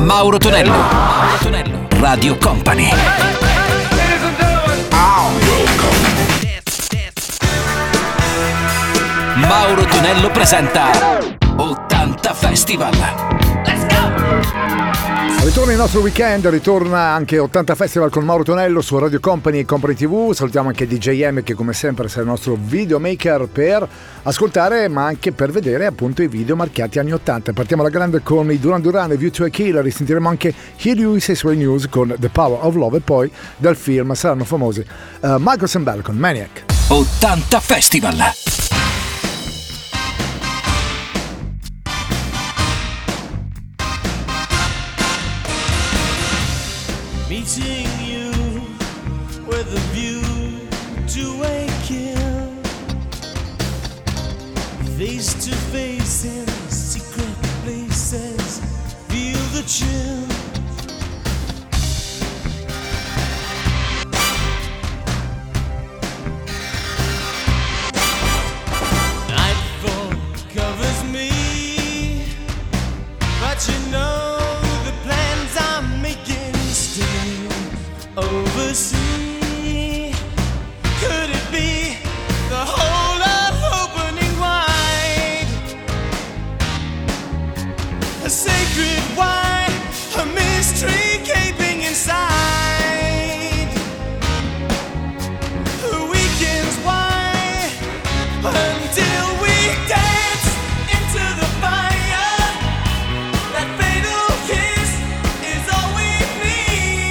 Mauro Tonello. Mauro Tonello. Radio Company. Mauro Tonello presenta 80 Festival. Let's go! Ritorna il nostro weekend, ritorna anche 80 Festival con Mauro Tonello su Radio Company e Company TV. Salutiamo anche DJM che come sempre sarà il nostro videomaker per ascoltare ma anche per vedere appunto i video marchiati anni 80. Partiamo alla grande con i Duran Duran e View to a Killer, risentiremo anche Hear You Say Sway News con The Power of Love e poi dal film saranno famosi Michael Sembel con Maniac. 80 Festival. Meeting you with a view to a kill, face to face in secret places, feel the chill. Nightfall covers me, but you know oversea. Could it be the whole of opening wide? A sacred why, a mystery gaping inside. Weekends why, until we dance into the fire. That fatal kiss is all we need.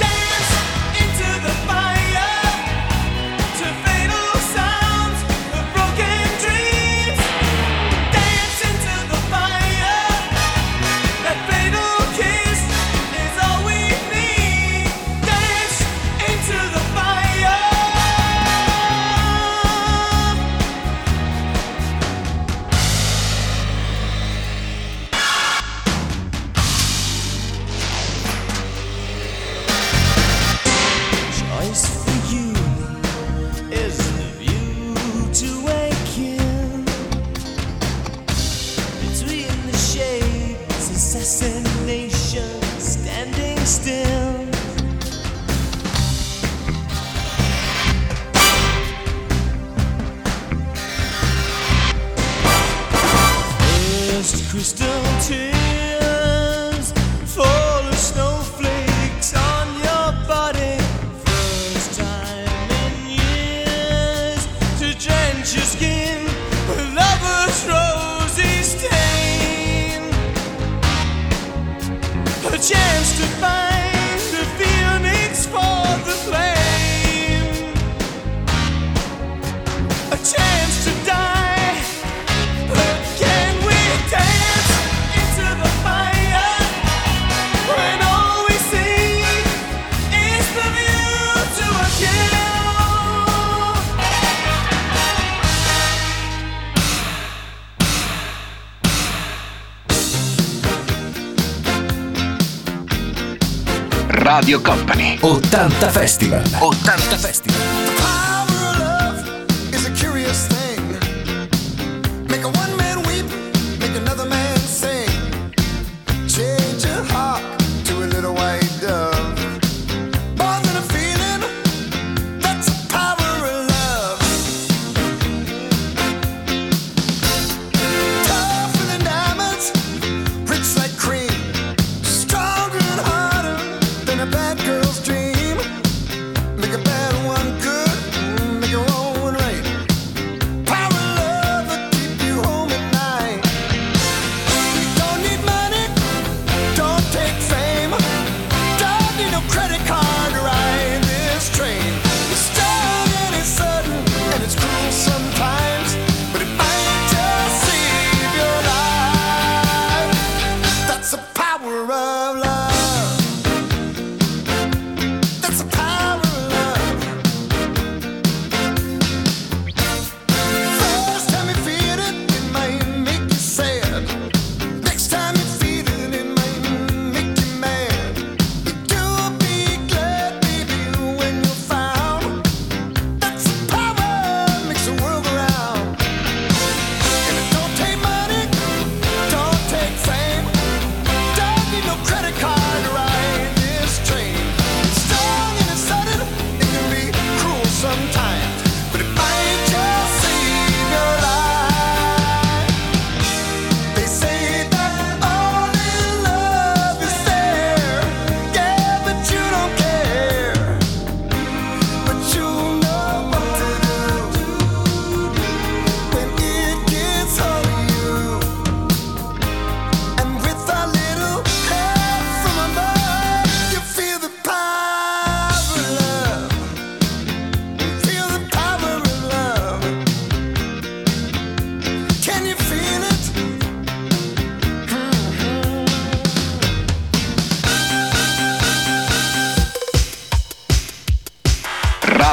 Crystal tears fall as snowflakes on your body. First time in years to drench your skin with lover's rosy stain. A chance to find the phoenix for the flame. A chance to die. Radio Company 80 Festival. 80 Festival. Bad girl's dream, make a bad one good.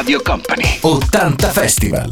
Radio Company 80 Festival.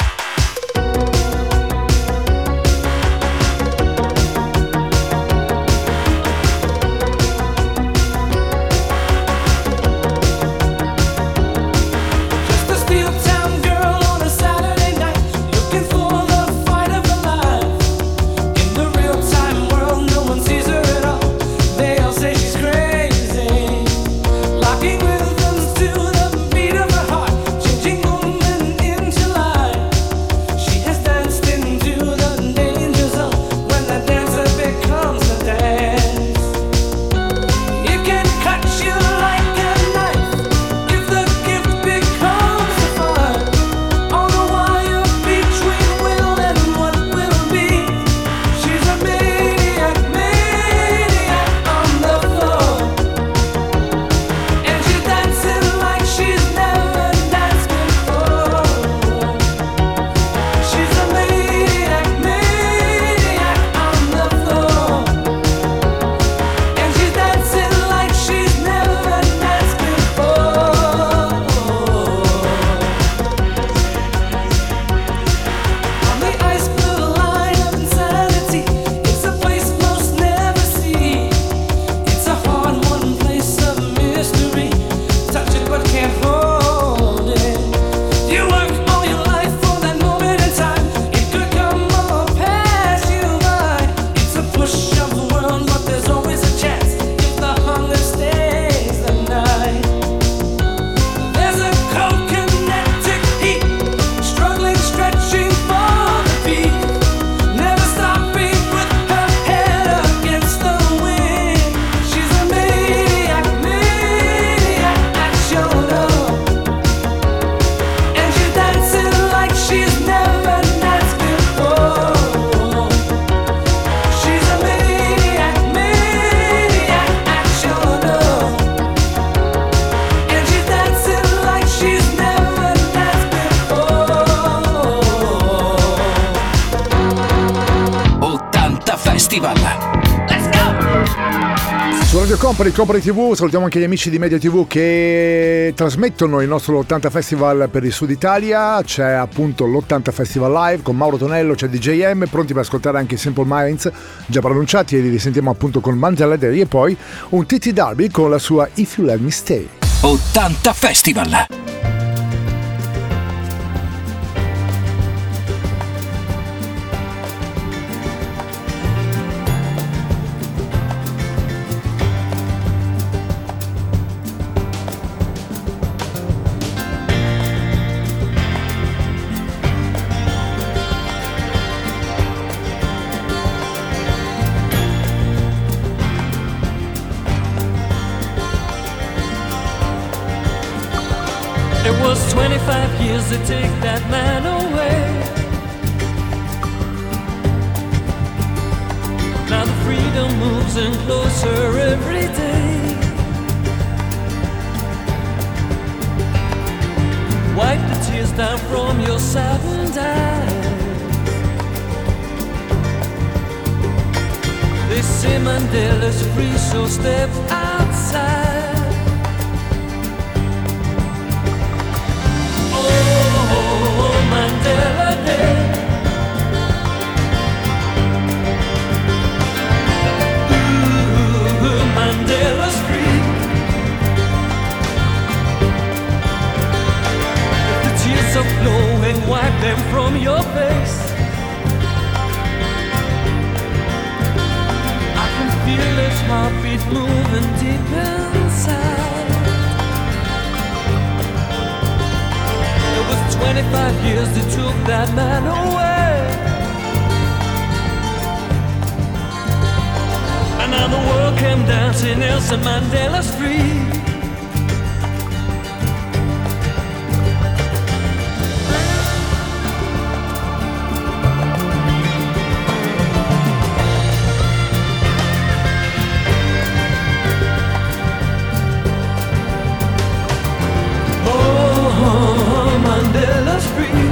Su Radio Company, Company TV, salutiamo anche gli amici di Media TV che trasmettono il nostro 80 Festival per il Sud Italia. C'è appunto l'80 Festival Live con Mauro Tonello, c'è DJM, pronti per ascoltare anche i Simple Minds già pronunciati, e li risentiamo appunto con Manzella Day e poi un TT Darby con la sua If You Let Me Stay. 80 Festival. It was 25 years to take that man away. Now the freedom moves in closer every day. Wipe the tears down from your saddened eyes. They say Mandela's free, so step outside. Mandela Day. Ooh, Mandela's free. If the tears are flowing, wipe them from your face. I can feel his heartbeat moving deep inside. It was 25 years that took that man away. And now the world came dancing, Nelson Mandela's free. Mandela's free.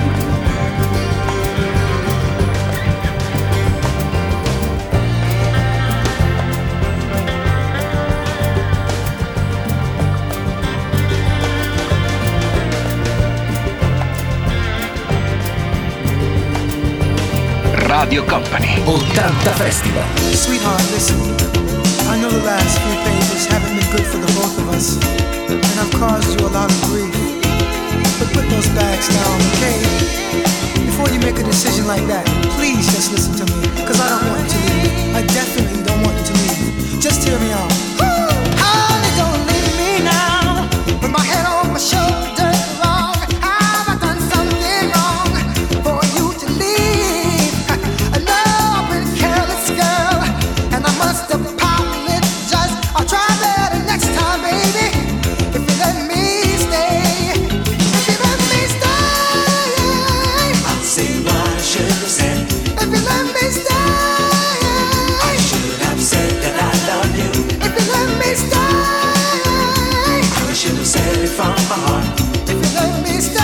Radio Company 80 Festival. Sweetheart, listen. I know the last few pages haven't been good for the both of us, and I've caused you a lot of grief. But put those bags down, okay? Before you make a decision like that, please just listen to me, because I don't want you to leave. I definitely don't want you to leave. Just hear me out. Honey, don't leave me now, with my head on my shoulders. Wrong, have I done something wrong for you to leave? I know I've been a careless girl, and I must apologize. I'll try better next time, baby. If you let me stay, if you let me stay, I'll say what I should have said. if you let me stay, I should have said that I love you. if you let me stay, I should have said it from my heart. if you let me stay.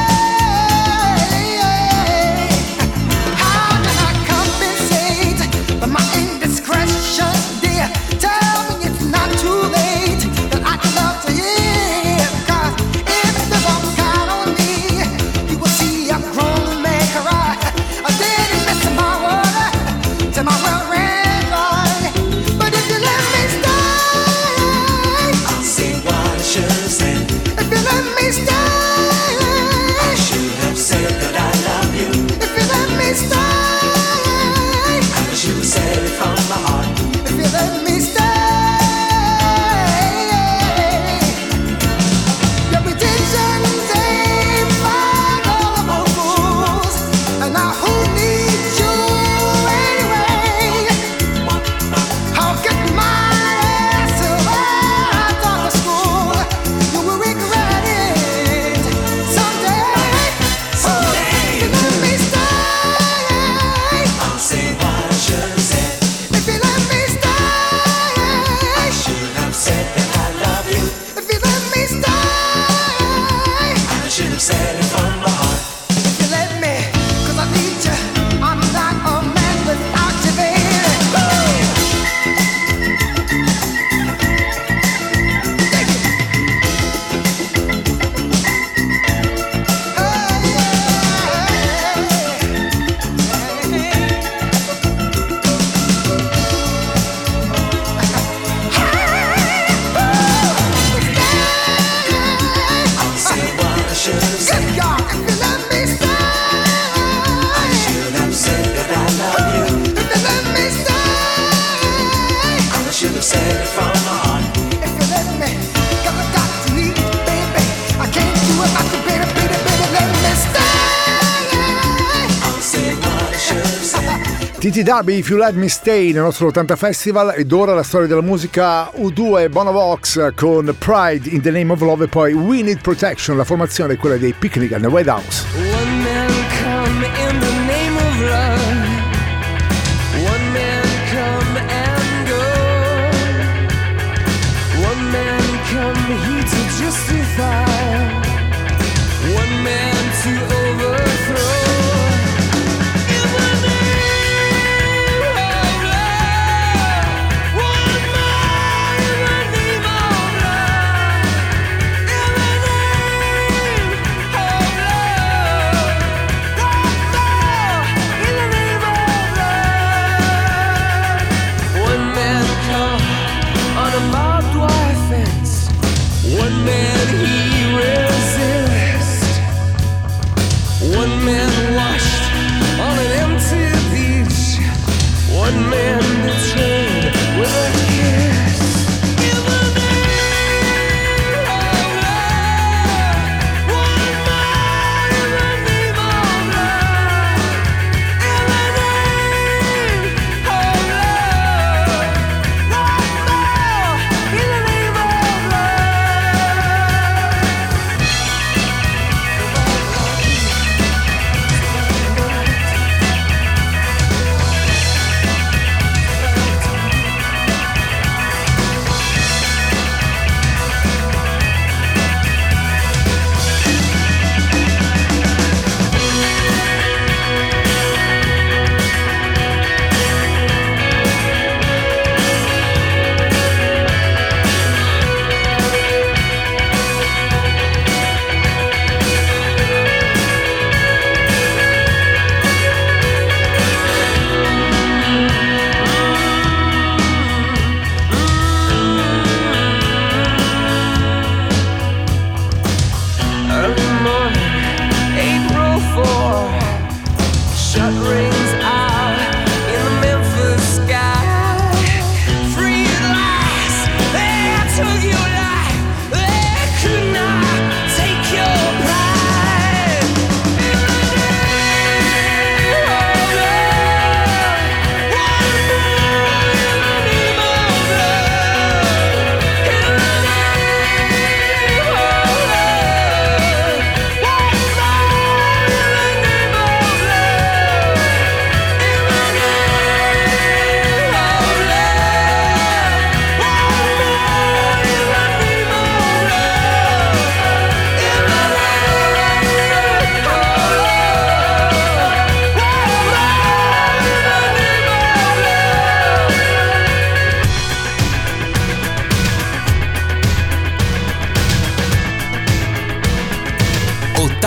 How can I compensate for my indiscretion, dear? Tell me it's not too late, that I'd love to hear. 'Cause if you walk out on me, you will see a grown man cry. I didn't miss my water till my well ran dry. But if you let me stay, I'll say what I should have said. if you let me stay, I should have said that I love you. if you let me stay, I should have said it from my heart. if you let me stay. Your pretensions ain't fine, all of my fools. And now who needs you anyway? I'll get my ass right out of school. You will regret it someday. If you let me stay, I'll say what I should have said. if you let me stay, I should have said that I love you. if you let me stay, I should have said it from my heart. if you let me, 'cause I need you. I'm not a man without you, baby. Take it. I'll say what I should have said. Good God, if you let me I stay, should have said that I love you. if you let me stay, I should have said it from my heart. if you let me, 'cause I got to need you, baby. I can't do it without you, baby, baby, baby, let me stay. I'll say what I should have said. Titi Darby, If You Let Me Stay nel nostro 80 Festival. Ed ora la storia della musica U2 e Bono Vox con Pride in the Name of Love e poi We Need Protection, la formazione è quella dei Picnic and the White House. One man come in the name of love. One man come and go. One man come here to justify. One man to overthrow. In the name of love. One man in the name of love. In the name of love. In the name of love. One man come on a barbed wire fence. One man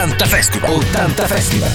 80 Festival. 80 Festival.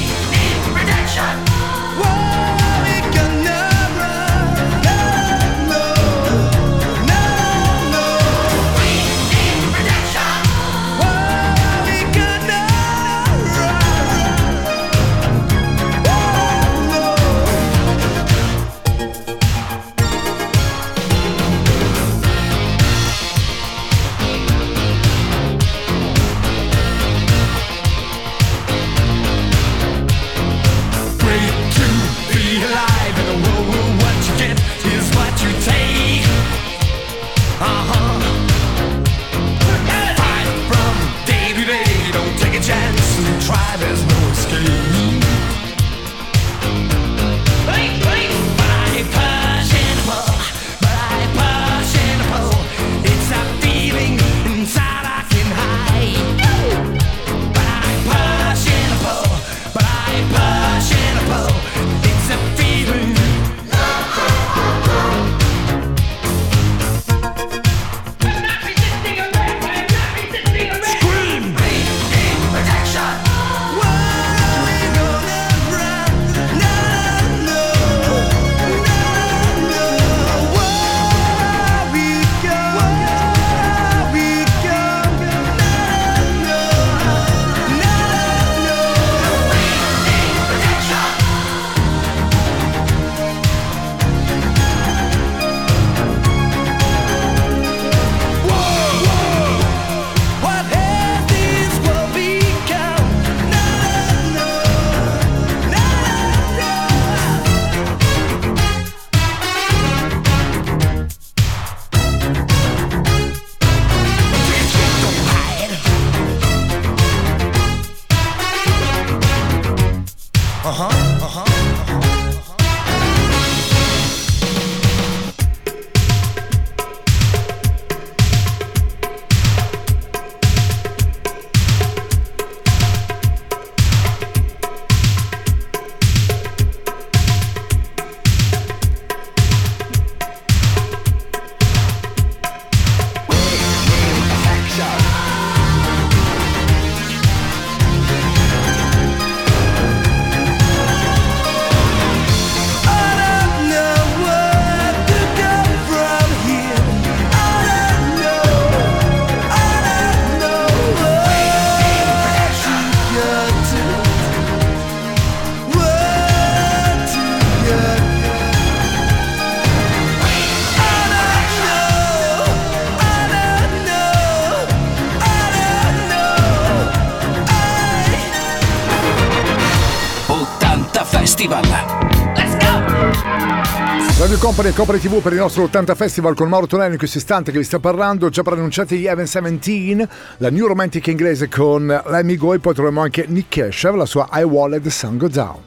Radio Company e Company TV per il nostro 80 Festival con Mauro Tonello in questo istante che vi sta parlando, già preannunciati gli Even 17, la New Romantic inglese con Let Me Go, e poi troviamo anche Nick Keshev, la sua I Won't Let the Sun Go Down.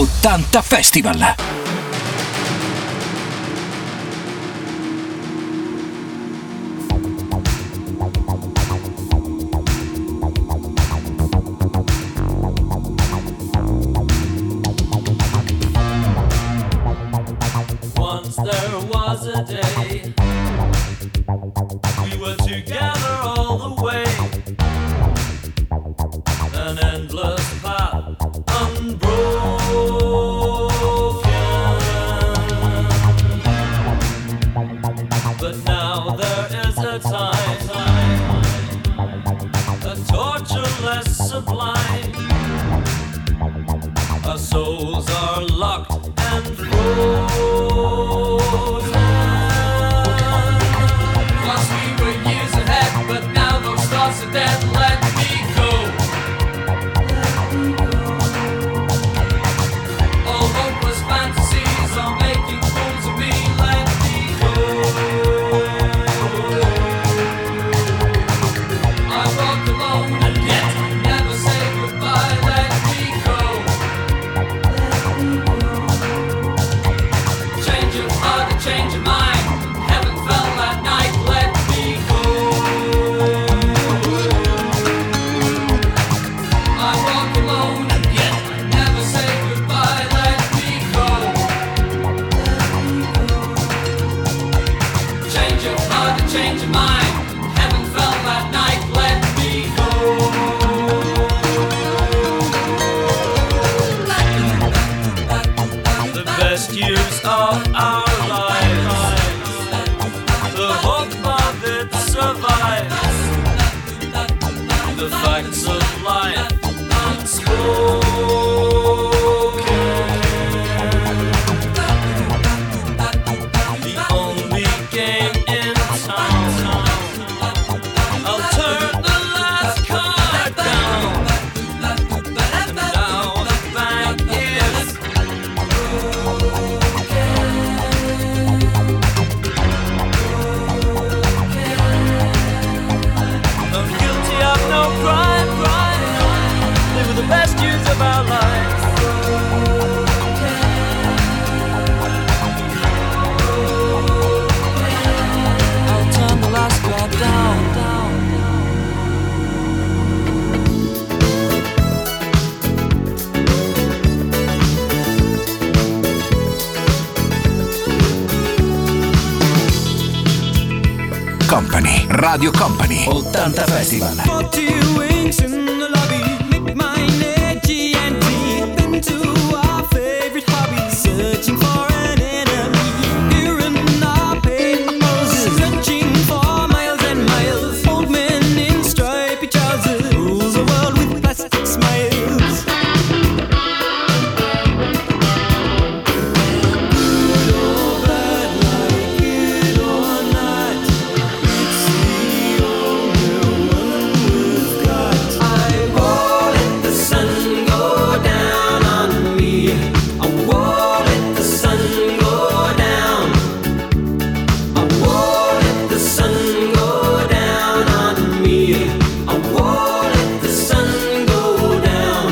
80 Festival. There was a day we were together all the way, an endless path unbroken. But now there is a time, a torture less sublime. Our souls are locked and frozen. Once we were years ahead, but now those thoughts are dead. Let me go. All hopeless fantasies are making fools of me. Let me go. I walk alone and yet never say goodbye. Let me go. Change your heart and change your mind. Heaven fell that night. Let me go. I walk alone and yet never say goodbye. Let me go. Change your heart and change your mind. Heaven fell that night. Let me go. the hope of it survives. The facts of life unspoken. The only game in town. I'll turn the last card down. And now the bank is I'm guilty of no crime. Live with the best years of our lives. I'll turn the last card down. Company, Radio Company, 80 Festival. 40 wings in the lobby, make mine edgy and deep into our favorite hobby, searching for an enemy. Here in our paper poses, searching for miles and miles. Old men in stripy trousers, rules the world with plastic smiles. Good or bad, like it or not, it's the only one we've got. I won't let the sun go down on me. I won't let the sun go down. I won't let the sun go down on me. I won't let the sun go down.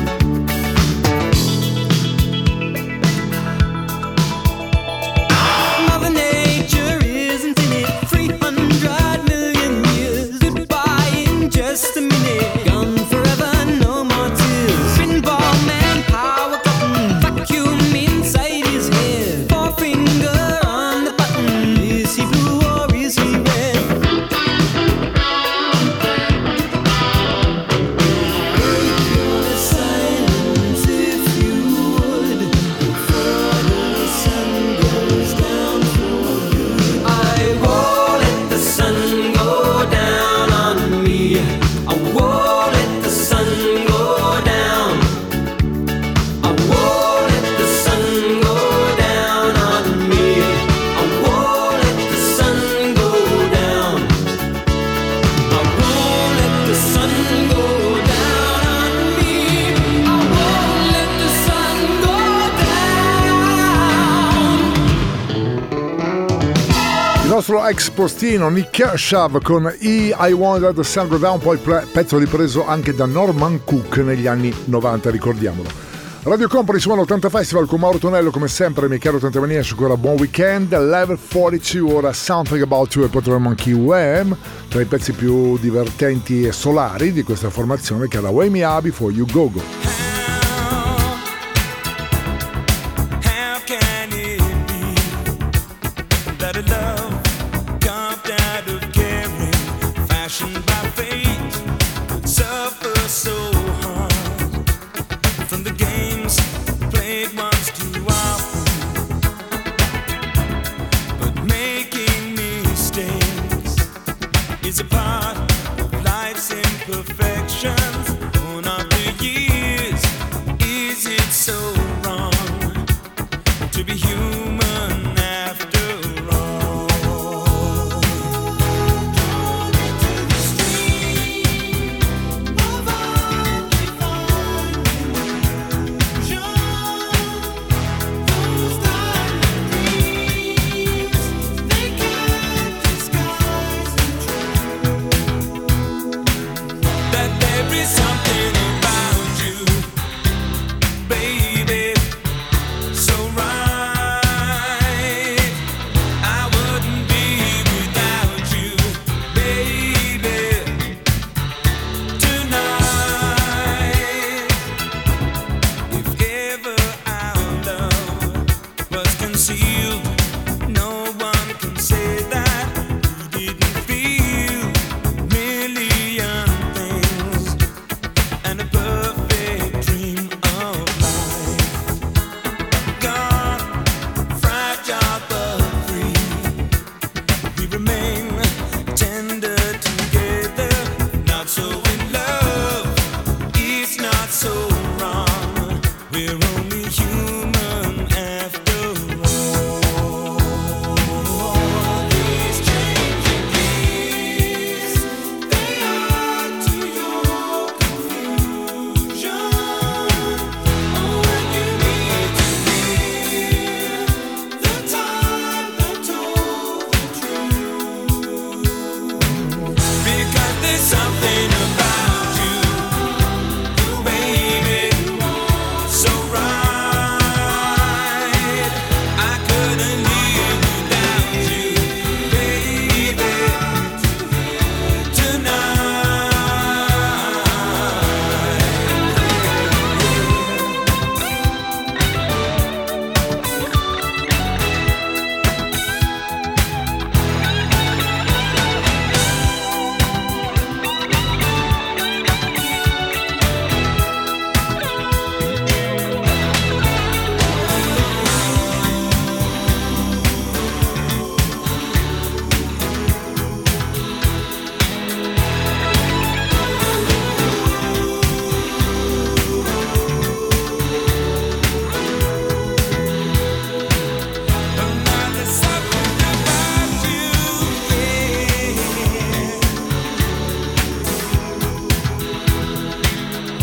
Mother Nature isn't in it. 300 million years. Goodbye in just a minute. Gone forever, no more tears. Pinball man, power button. Vacuum inside his head. Forefinger on the button. Is he blue or is he red? Break your silence if you would. Before the sun goes down for good. I won't let the sun go down on me. I won't let the sun go down. I won't let the sun go down on me. I won't let the sun go down. I won't let the sun go down on me. I won't let the sun go down. Il nostro ex postino Nick Kershaw con I Wanted the Sun Go Down, poi pezzo ripreso anche da Norman Cook negli anni 90, ricordiamolo. Radio Company suona 80 Festival con Mauro Tonello, come sempre, miei cari 80 maniaci, ancora buon weekend. Level 42, ora Something About You e poi troviamo anche Wham, tra i pezzi più divertenti e solari di questa formazione, che è la Wake Me Up Before You Go Go. How can it be that a love carved out of caring, fashioned by fate, would suffer so hard from the games played once too often? But making mistakes is a part of life's imperfections. Born of the years, is it so wrong to be human after all?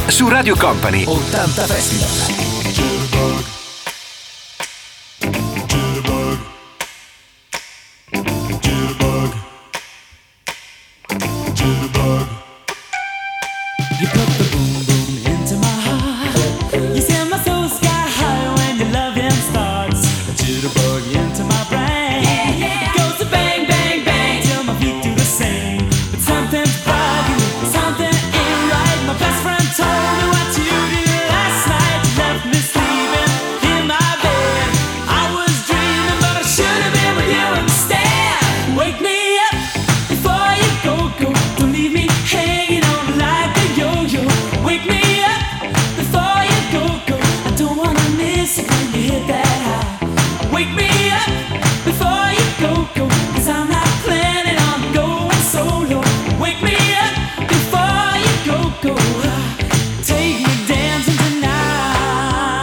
su Radio Company 80 Festival. You put the boom boom into my heart. You send my soul sky high when your loving starts. A jitterbug into my brain. It goes to bang bang bang till my feet do the same. But something's bugging, something ain't right. My best friend told me what you did last night. You left me sleeping in my bed. I was dreaming, but I should have been with you instead. Wake me up before you go. Don't leave me hanging on like a yo-yo. Wake me up before you go. I don't wanna miss it when you hit that high. Wake me up before you go. Cause I'm not planning on going solo. Wake me up before you go. Take me dancing tonight.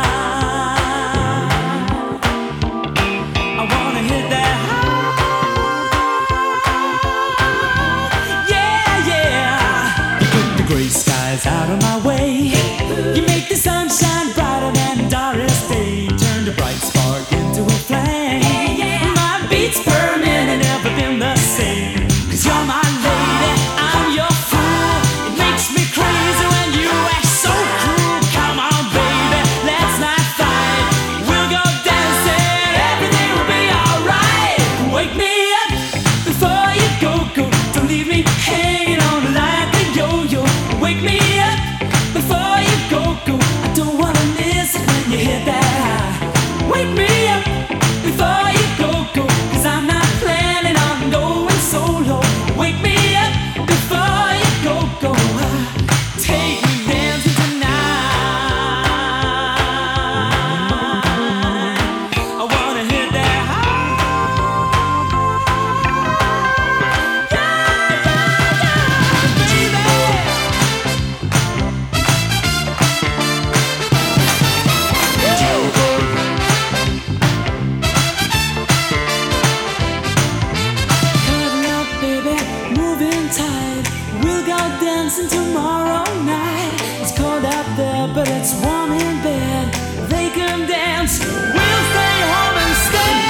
I wanna hit that high. Yeah, yeah. You put the gray skies out of my way. You make the sunshine brighter than Doris Day. Turn the bright spark into a flame. My beats per minute never been the same. Cause you're my lady, I'm your fool. It makes me crazy when you act so cruel. Come on, baby, let's not fight. We'll go dancing, everything will be alright. Wake me up before you go. Don't leave me hanging on like a yo-yo. Wake me up before you go. I don't wanna miss it when you hit that high. Wake me up before you go. Cause I'm not planning on going solo. Wake me up before you go. Take me dancing tonight. I wanna hit that high. Coming up, baby, moving tight. We'll go dancing tomorrow night. It's cold out there, but it's warm in bed. They can dance, we'll stay home instead.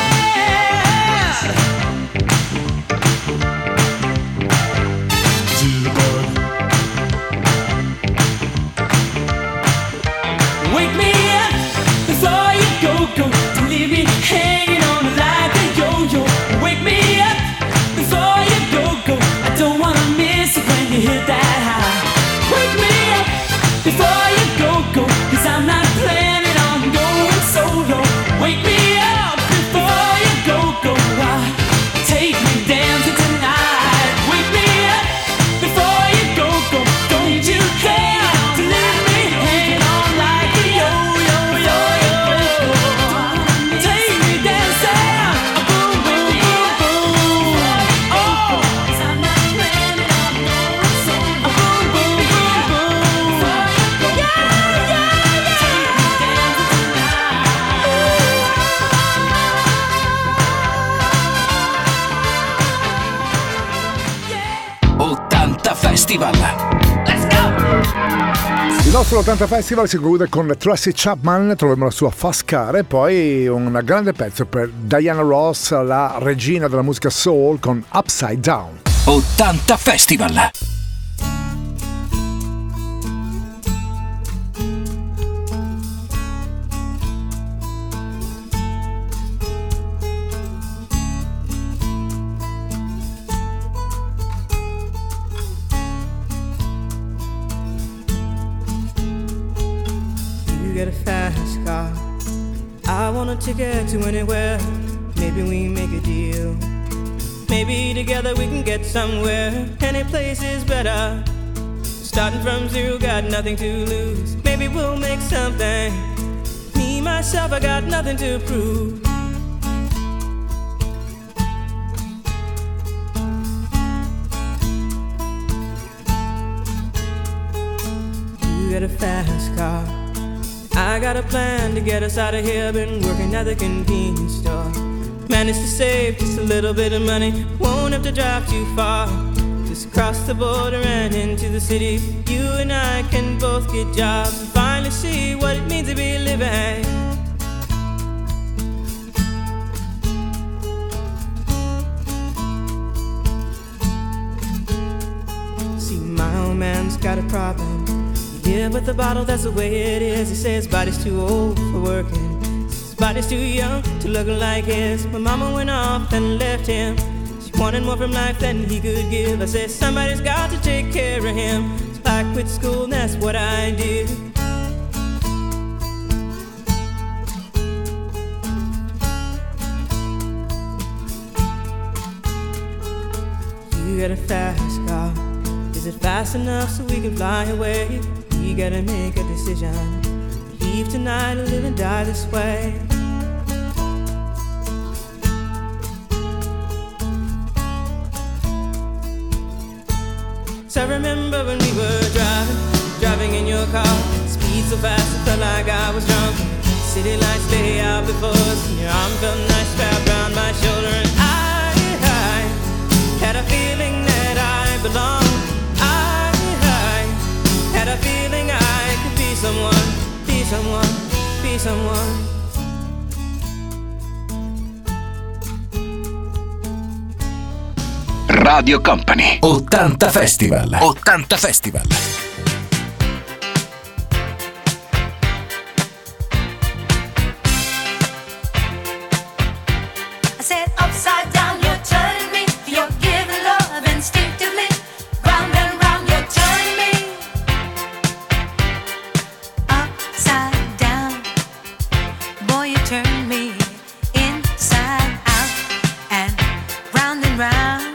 Wake me up before you go. Don't leave me hanging on like a yo-yo. Wake me up before you go. I don't wanna miss it when you hit that high. Wake me up before you go. Cause I'm not planning on going solo. Wake me up before you go. Take me dancing tonight. Wake me up before you go. Don't you care to leave me hanging on like a yo-yo. Take me dancing, boom, boom, boom, boom. Oh, 'cause I'm not planning on going solo. Boom, boom, boom, boom. Yeah, yeah, yeah. Take me dancing tonight. 80 Festival. Let's go! Il nostro 80 Festival si conclude con Tracy Chapman, troviamo la sua Fast Car e poi un grande pezzo per Diana Ross, la regina della musica soul, con Upside Down. 80 Festival. You get a fast car. I want a ticket to anywhere. Maybe we make a deal. Maybe together we can get somewhere. Any place is better. Starting from zero, got nothing to lose. Maybe we'll make something. Me, myself, I got nothing to prove. You get a fast car. I got a plan to get us out of here. Been working at the convenience store. Managed to save just a little bit of money. Won't have to drive too far. Just cross the border and into the city. You and I can both get jobs and finally see what it means to be living. See, my old man's got a problem. He live with a bottle, that's the way it is. He says his body's too old for working. His body's too young to look like his. My mama went off and left him. Wanted more from life than he could give. I said somebody's got to take care of him. So I quit school and that's what I did. You got a fast car. Is it fast enough so we can fly away? We gotta make a decision. Leave tonight or live and die this way. So I remember when we were driving in your car. Speed so fast it felt like I was drunk. City lights lay out before us, and your arm felt nice wrapped around my shoulder. And I had a feeling that I belonged. I had a feeling I could be someone, be someone, be someone. Radio Company 80 Festival. 80 Festival. I said upside down, you're turning me. You're giving love instinctively. Round and round, you're turning me. Upside down, boy, you turn me inside out and round.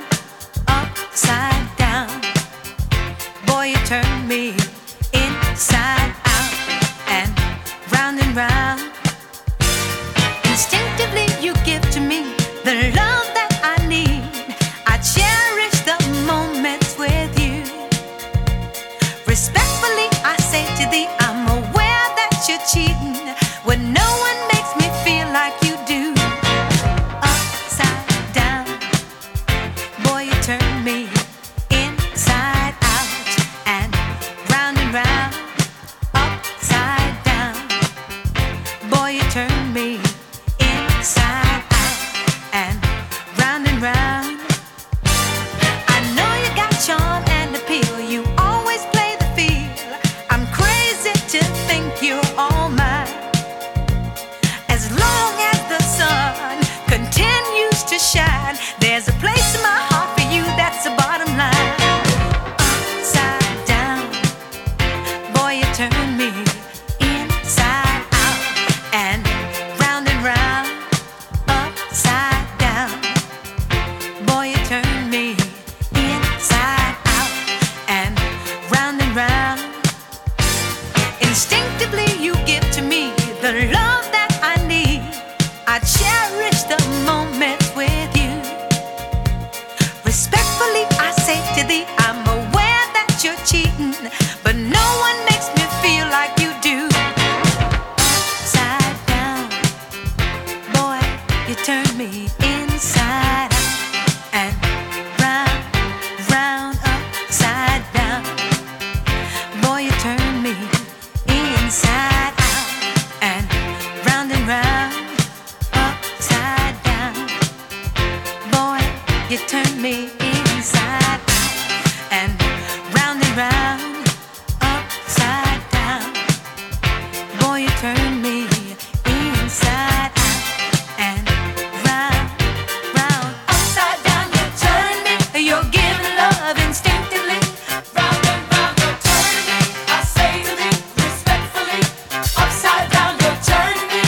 Upside down, boy, you turn me inside out and round. Instinctively, you give to me the love that I need. I cherish the moments with you. Respectfully, I say to thee, I'm aware that you're cheating when no one makes me feel like you do. Upside down, boy, you turn me inside out and round. Upside down, boy, you turn me inside out and round. I know you got charm and appeal. You always play the field. I'm crazy to think you're all mine. As long as the sun continues to shine, there's a place in my heart for you, that's the bottom line. Upside down, boy, you turn me inside out and round. Upside down, boy, you turn me inside out and round. Instinctively, you give to me the love that I need. I cherish the moments with you. Respectfully, I say to thee, I'm aware that you're cheating, but no one makes me feel like you do. Upside down, boy, you turn me inside out and round. Upside down, boy, you turn me inside out and round. Upside down, boy, you turn me inside out and round. Upside down, boy, you turn me inside out and round. Upside down, you turn me. You're giving love instinctively. Round and round, you're turning me. I say to thee respectfully. Upside down, you're turning me.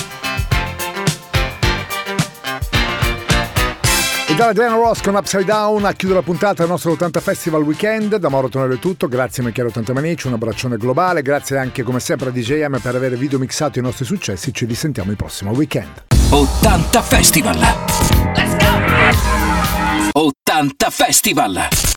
E dalla Diana Ross con Upside Down a chiudere la puntata del nostro 80 Festival Weekend. Da Mauro Tonello è tutto, grazie a Michele 80 Manici, un abbraccione globale, grazie anche come sempre a DJM per aver video mixato i nostri successi. Ci risentiamo il prossimo weekend. 80 Festival. Let's go! 80 Festival.